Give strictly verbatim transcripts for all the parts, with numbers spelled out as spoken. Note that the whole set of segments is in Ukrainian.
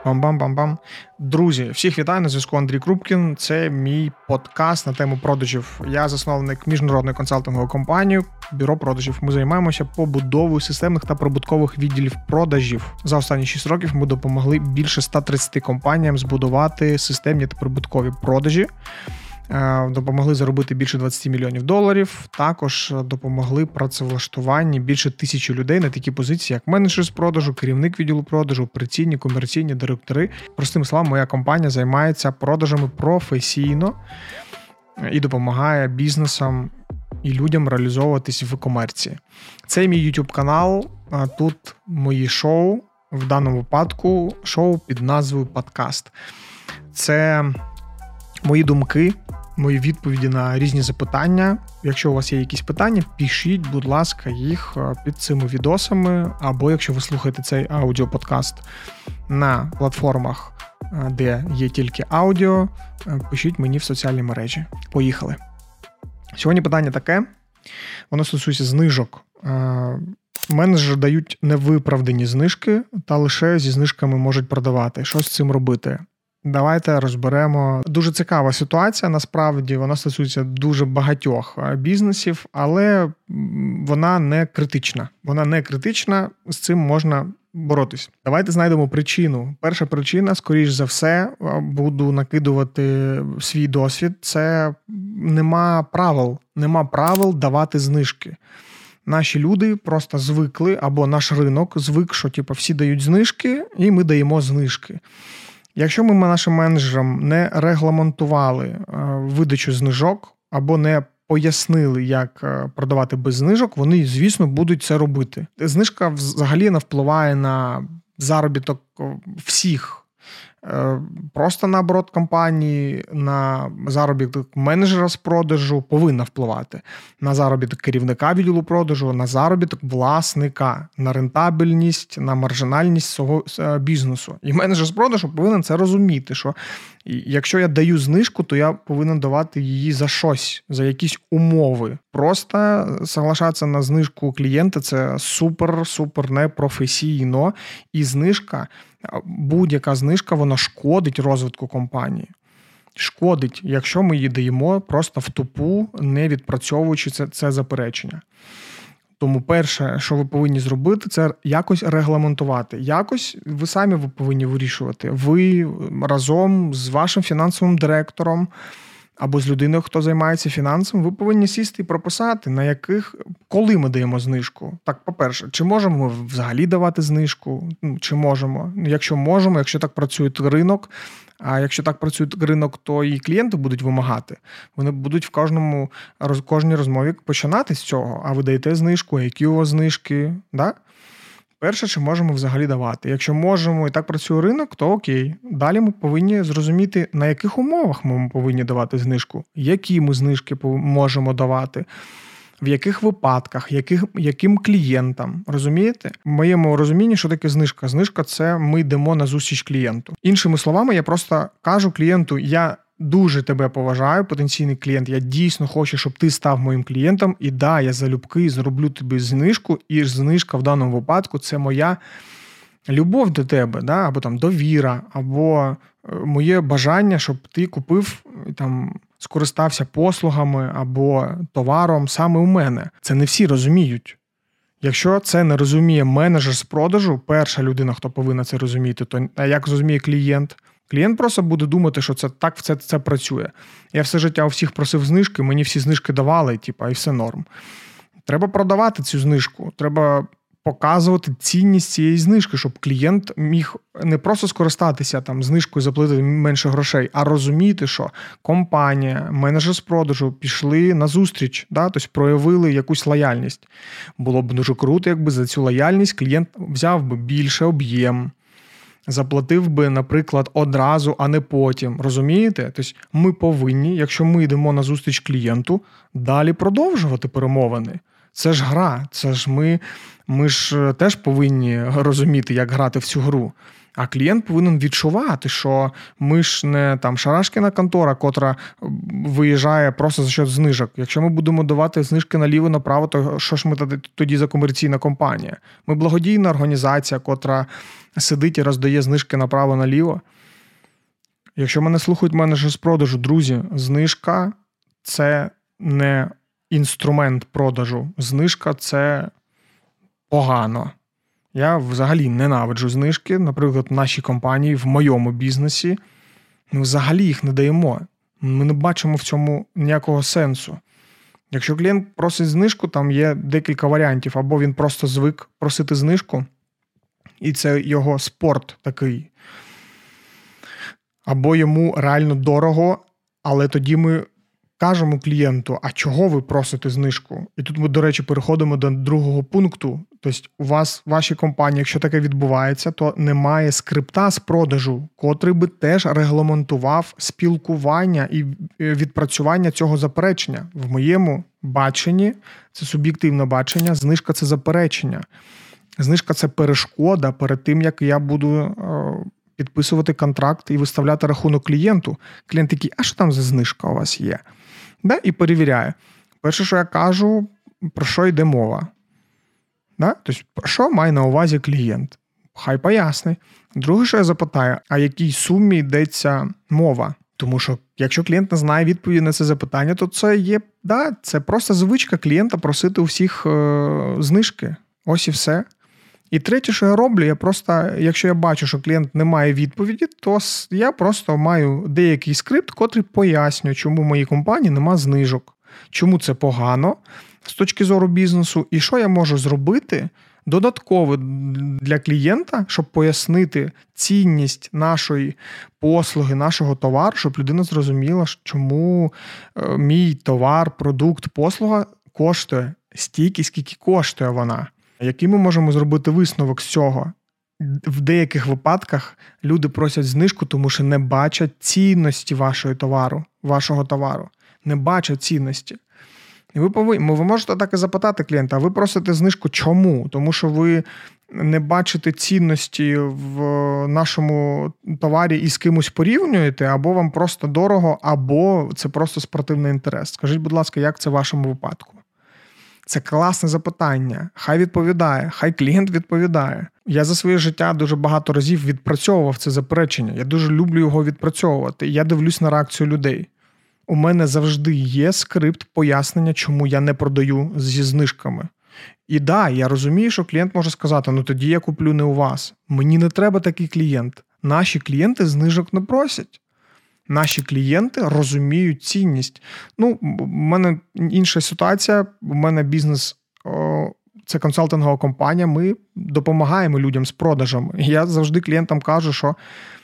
Бам-бам-бам-бам. Друзі, всіх вітаю, на зв'язку Андрій Крупкін. Це мій подкаст на тему продажів. Я засновник міжнародної консалтингової компанії «Бюро продажів». Ми займаємося побудовою системних та прибуткових відділів продажів. За останні шість років ми допомогли більше ста тридцяти компаніям збудувати системні та прибуткові продажі. Допомогли заробити більше двадцять мільйонів доларів. Також допомогли працевлаштуванні більше тисячі людей на такі позиції, як менеджер з продажу, керівник відділу продажу, операційні, комерційні, директори. Простими словами, моя компанія займається продажами професійно і допомагає бізнесам і людям реалізовуватись в комерції. Це мій YouTube канал, тут мої шоу, в даному випадку шоу під назвою «Подкаст». Це мої думки, мої відповіді на різні запитання. Якщо у вас є якісь питання, пишіть, будь ласка, їх під цими відосами, або якщо ви слухаєте цей аудіоподкаст на платформах, де є тільки аудіо, пишіть мені в соціальні мережі. Поїхали. Сьогодні питання таке, воно стосується знижок. Менеджери дають невиправдані знижки, та лише зі знижками можуть продавати. Що з цим робити? Давайте розберемо. Дуже цікава ситуація, насправді, вона стосується дуже багатьох бізнесів, але вона не критична. Вона не критична, з цим можна боротись. Давайте знайдемо причину. Перша причина, скоріш за все, буду накидувати свій досвід, це нема правил. Нема правил давати знижки. Наші люди просто звикли, або наш ринок звик, що типу, всі дають знижки, і ми даємо знижки. Якщо ми нашим менеджерам не регламентували видачу знижок або не пояснили, як продавати без знижок, вони, звісно, будуть це робити. Знижка взагалі не впливає на заробіток всіх. Просто на оборот компанії, на заробіток менеджера з продажу повинна впливати. На заробіток керівника відділу продажу, на заробіток власника, на рентабельність, на маржинальність свого бізнесу. І менеджер з продажу повинен це розуміти, що якщо я даю знижку, то я повинен давати її за щось, за якісь умови. Просто соглашатися на знижку клієнта – це супер-супер непрофесійно. І знижка, будь-яка знижка, вона шкодить розвитку компанії. Шкодить, якщо ми її даємо просто в тупу, не відпрацьовуючи це, це заперечення. Тому перше, що ви повинні зробити, це якось регламентувати. Якось ви самі ви повинні вирішувати. Ви разом з вашим фінансовим директором або з людиною, хто займається фінансами, ви повинні сісти і прописати, на яких, коли ми даємо знижку. Так, по-перше, чи можемо ми взагалі давати знижку? Чи можемо? Якщо можемо, якщо так працює ринок, а якщо так працює ринок, то і клієнти будуть вимагати. Вони будуть в кожному, кожній розмові починати з цього. А ви даєте знижку, які у вас знижки? Да? Перше, чи можемо взагалі давати. Якщо можемо і так працює ринок, то окей. Далі ми повинні зрозуміти, на яких умовах ми повинні давати знижку, які ми знижки можемо давати, в яких випадках, яких, яким клієнтам. Розумієте? В моєму розумінні, що таке знижка? Знижка – це ми йдемо на зустріч клієнту. Іншими словами, я просто кажу клієнту, я дуже тебе поважаю, потенційний клієнт, я дійсно хочу, щоб ти став моїм клієнтом, і да, я залюбки зроблю тобі знижку, і знижка в даному випадку – це моя любов до тебе, да? Або там довіра, або моє бажання, щоб ти купив, там, скористався послугами або товаром саме у мене. Це не всі розуміють. Якщо це не розуміє менеджер з продажу, перша людина, хто повинна це розуміти, то а як розуміє клієнт? Клієнт просто буде думати, що це так це, це працює. Я все життя у всіх просив знижки, мені всі знижки давали, типу, і все норм. Треба продавати цю знижку, треба показувати цінність цієї знижки, щоб клієнт міг не просто скористатися там знижкою, заплатити менше грошей, а розуміти, що компанія, менеджер з продажу пішли на зустріч, да? Тобто проявили якусь лояльність. Було б дуже круто, якби за цю лояльність клієнт взяв би більше об'єм, заплатив би, наприклад, одразу, а не потім. Розумієте? Тобто ми повинні, якщо ми йдемо на зустріч клієнту, далі продовжувати перемовини. Це ж гра, це ж ми, ми ж теж повинні розуміти, як грати в цю гру. А клієнт повинен відчувати, що ми ж не там шарашкіна контора, котра виїжджає просто за счет знижок. Якщо ми будемо давати знижки наліво-направо, то що ж ми тоді за комерційна компанія? Ми благодійна організація, котра сидить і роздає знижки направо-наліво. Якщо мене слухають менеджери з продажу, друзі, знижка – це не інструмент продажу. Знижка – це погано. Я взагалі ненавиджу знижки. Наприклад, в нашій компанії, в моєму бізнесі, ми взагалі їх не даємо. Ми не бачимо в цьому ніякого сенсу. Якщо клієнт просить знижку, там є декілька варіантів. Або він просто звик просити знижку, і це його спорт такий. Або йому реально дорого, але тоді ми кажемо клієнту, а чого ви просите знижку? І тут ми, до речі, переходимо до другого пункту. Тобто у вас, в вашій компанії, якщо таке відбувається, то немає скрипта з продажу, котрий би теж регламентував спілкування і відпрацювання цього заперечення. В моєму баченні, це суб'єктивне бачення, знижка – це заперечення. Знижка – це перешкода перед тим, як я буду підписувати контракт і виставляти рахунок клієнту. Клієнт такий, а що там за знижка у вас є? Да? І перевіряє. Перше, що я кажу, про що йде мова. Да? Тобто, про що має на увазі клієнт? Хай поясни. Друге, що я запитаю, а якій сумі йдеться мова? Тому що, якщо клієнт не знає відповіді на це запитання, то це є, да, це просто звичка клієнта просити у всіх е- знижки. Ось і все. І третє, що я роблю, я просто, якщо я бачу, що клієнт не має відповіді, то я просто маю деякий скрипт, котрий пояснює, чому в моїй компанії нема знижок, чому це погано з точки зору бізнесу, і що я можу зробити додатково для клієнта, щоб пояснити цінність нашої послуги, нашого товару, щоб людина зрозуміла, чому мій товар, продукт, послуга коштує стільки, скільки коштує вона. Який ми можемо зробити висновок з цього? В деяких випадках люди просять знижку, тому що не бачать цінності вашого товару, вашого товару. Не бачать цінності. І ви повинні, ви можете так і запитати клієнта, а ви просите знижку чому? Тому що ви не бачите цінності в нашому товарі і з кимось порівнюєте, або вам просто дорого, або це просто спортивний інтерес. Скажіть, будь ласка, як це в вашому випадку? Це класне запитання. Хай відповідає, хай клієнт відповідає. Я за своє життя дуже багато разів відпрацьовував це заперечення. Я дуже люблю його відпрацьовувати. Я дивлюсь на реакцію людей. У мене завжди є скрипт пояснення, чому я не продаю зі знижками. І да, я розумію, що клієнт може сказати, ну тоді я куплю не у вас. Мені не треба такий клієнт. Наші клієнти знижок не просять. Наші клієнти розуміють цінність. Ну, в мене інша ситуація. У мене бізнес о, – це консалтингова компанія. Ми допомагаємо людям з продажами. Я завжди клієнтам кажу, що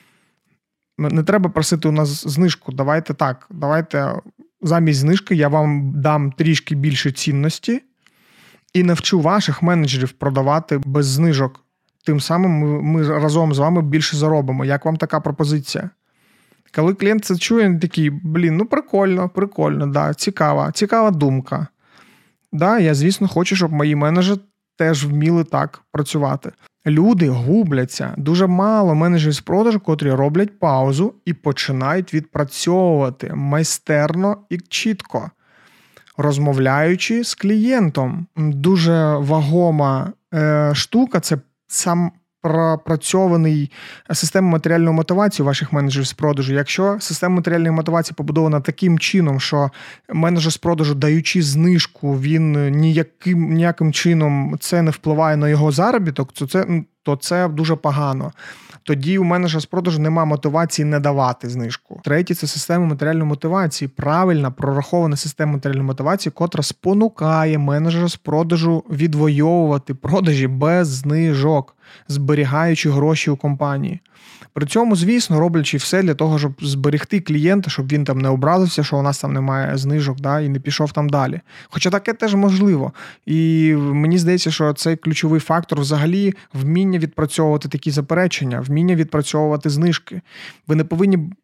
не треба просити у нас знижку. Давайте так, давайте замість знижки я вам дам трішки більше цінності і навчу ваших менеджерів продавати без знижок. Тим самим ми, ми разом з вами більше заробимо. Як вам така пропозиція? Коли клієнт це чує, він такий, блін, ну прикольно, прикольно, да, цікава, цікава думка. Да, я, звісно, хочу, щоб мої менеджери теж вміли так працювати. Люди губляться. Дуже мало менеджерів з продажу, котрі роблять паузу і починають відпрацьовувати майстерно і чітко, розмовляючи з клієнтом. Дуже вагома е, штука – це сам пропрацьований система матеріальної мотивації ваших менеджерів з продажу. Якщо система матеріальної мотивації побудована таким чином, що менеджер з продажу, даючи знижку, він ніяким, ніяким чином це не впливає на його заробіток, то це, то це дуже погано. Тоді у менеджера з продажу немає мотивації не давати знижку. Третє – це система матеріальної мотивації. Правильна, прорахована система матеріальної мотивації, котра спонукає менеджера з продажу відвоювати продажі без знижок, зберігаючи гроші у компанії. При цьому, звісно, роблячи все для того, щоб зберегти клієнта, щоб він там не образився, що у нас там немає знижок, да, і не пішов там далі. Хоча таке теж можливо. І мені здається, що цей ключовий фактор взагалі вміння відпрацьовувати такі заперечення, вміння відпрацьовувати знижки. Ви не повинні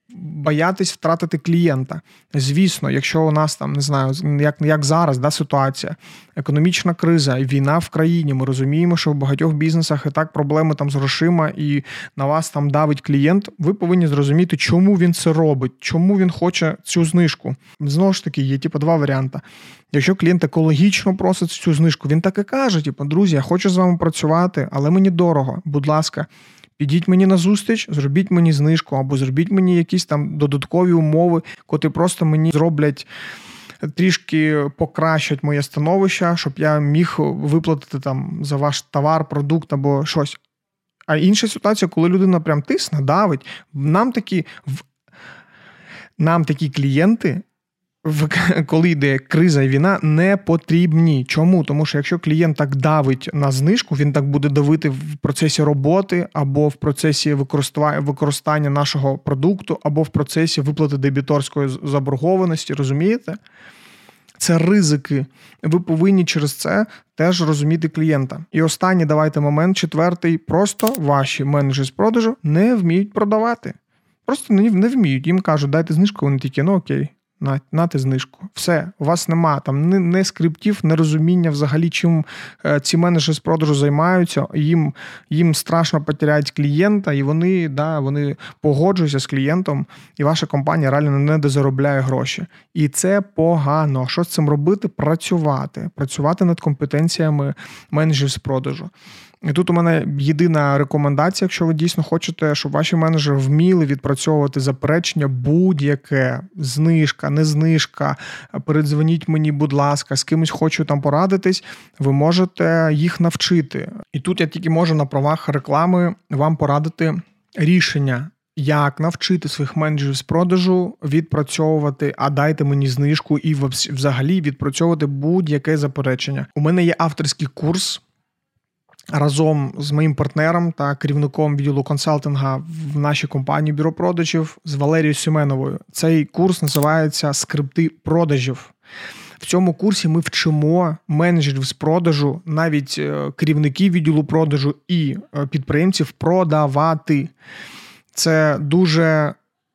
боятись втратити клієнта. Звісно, якщо у нас там, не знаю, як, як зараз, да, ситуація, економічна криза, війна в країні, ми розуміємо, що в багатьох бізнесах і так проблеми там з грошима, і на вас там давить клієнт, ви повинні зрозуміти, чому він це робить, чому він хоче цю знижку. Знову ж таки, є типу два варіанти. Якщо клієнт екологічно просить цю знижку, він так і каже, типу, друзі, я хочу з вами працювати, але мені дорого, будь ласка, підіть мені на зустріч, зробіть мені знижку, або зробіть мені якісь там додаткові умови, котрі просто мені зроблять, трішки покращать моє становище, щоб я міг виплатити там за ваш товар, продукт або щось. А інша ситуація, коли людина прям тисне, давить, нам такі, нам такі клієнти, коли йде криза і війна, не потрібні. Чому? Тому що якщо клієнт так давить на знижку, він так буде давити в процесі роботи, або в процесі використання нашого продукту, або в процесі виплати дебіторської заборгованості, розумієте? Це ризики. Ви повинні через це теж розуміти клієнта. І останній, давайте момент, четвертий. Просто ваші менеджери з продажу не вміють продавати. Просто не, не вміють. Їм кажуть, дайте знижку, вони такі, ну окей. На, нате знижку. Все, у вас нема там не, не скриптів, не розуміння взагалі, чим е, ці менеджери з продажу займаються, їм, їм страшно потеряють клієнта, і вони, да, вони погоджуються з клієнтом, і ваша компанія реально не дозаробляє гроші. І це погано. Що з цим робити? Працювати. Працювати над компетенціями менеджерів з продажу. І тут у мене єдина рекомендація, якщо ви дійсно хочете, щоб ваші менеджери вміли відпрацьовувати заперечення будь-яке, знижка, не знижка, передзвоніть мені, будь ласка, з кимось хочу там порадитись, ви можете їх навчити. І тут я тільки можу на правах реклами вам порадити рішення, як навчити своїх менеджерів з продажу відпрацьовувати, а дайте мені знижку і взагалі відпрацьовувати будь-яке заперечення. У мене є авторський курс, разом з моїм партнером та керівником відділу консалтинга в нашій компанії Бюро продажів з Валерією Семеновою. Цей курс називається «Скрипти продажів». В цьому курсі ми вчимо менеджерів з продажу, навіть керівників відділу продажу і підприємців продавати. Це дуже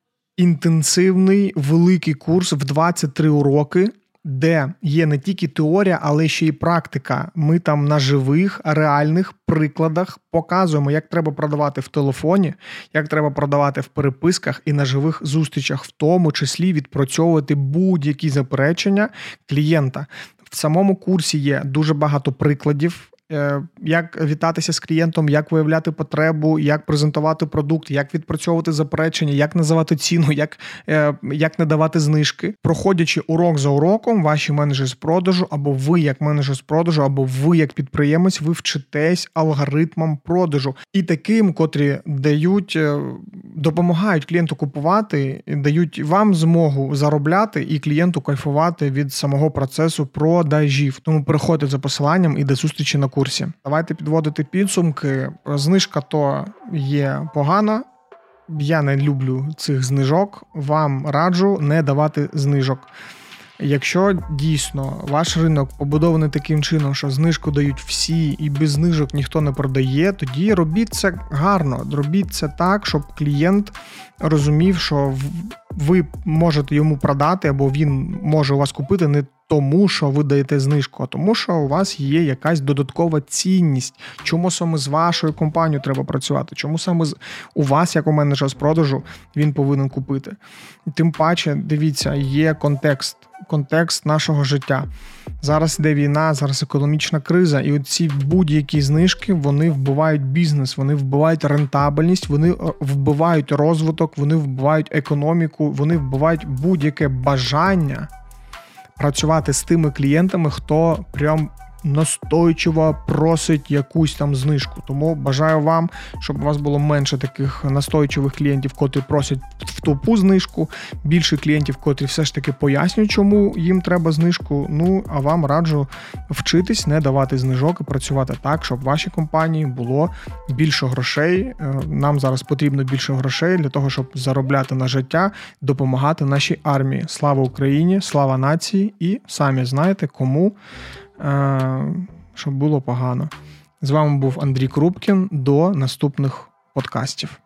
інтенсивний, великий курс в двадцять три уроки, де є не тільки теорія, але ще й практика. Ми там на живих, реальних прикладах показуємо, як треба продавати в телефоні, як треба продавати в переписках і на живих зустрічах, в тому числі відпрацьовувати будь-які заперечення клієнта. В самому курсі є дуже багато прикладів, як вітатися з клієнтом, як виявляти потребу, як презентувати продукт, як відпрацьовувати заперечення, як називати ціну, як, як не давати знижки. Проходячи урок за уроком, ваші менеджери з продажу, або ви як менеджер з продажу, або ви як підприємець, ви вчитесь алгоритмам продажу. І таким, котрі дають, допомагають клієнту купувати, дають вам змогу заробляти і клієнту кайфувати від самого процесу продажів. Тому переходьте за посиланням і до зустрічі на курсі. Давайте підводити підсумки. Знижка то є погана. Я не люблю цих знижок. Вам раджу не давати знижок. Якщо дійсно ваш ринок побудований таким чином, що знижку дають всі і без знижок ніхто не продає, тоді робіть це гарно. Робіть це так, щоб клієнт розумів, що ви можете йому продати або він може у вас купити не тому, що ви даєте знижку, а тому, що у вас є якась додаткова цінність. Чому саме з вашою компанією треба працювати? Чому саме у вас, як у менеджера з продажу, він повинен купити? Тим паче, дивіться, є контекст. Контекст нашого життя. Зараз йде війна, зараз економічна криза, і оці будь-які знижки, вони вбивають бізнес, вони вбивають рентабельність, вони вбивають розвиток, вони вбивають економіку, вони вбивають будь-яке бажання працювати з тими клієнтами, хто прям настойчиво просить якусь там знижку. Тому бажаю вам, щоб у вас було менше таких настойчивих клієнтів, котрі просять в тупу знижку, більше клієнтів, котрі все ж таки пояснюють, чому їм треба знижку. Ну, а вам раджу вчитись, не давати знижок і працювати так, щоб в вашій компанії було більше грошей. Нам зараз потрібно більше грошей для того, щоб заробляти на життя, допомагати нашій армії. Слава Україні, слава нації і самі знаєте, кому щоб було погано. З вами був Андрій Крупкін. До наступних подкастів.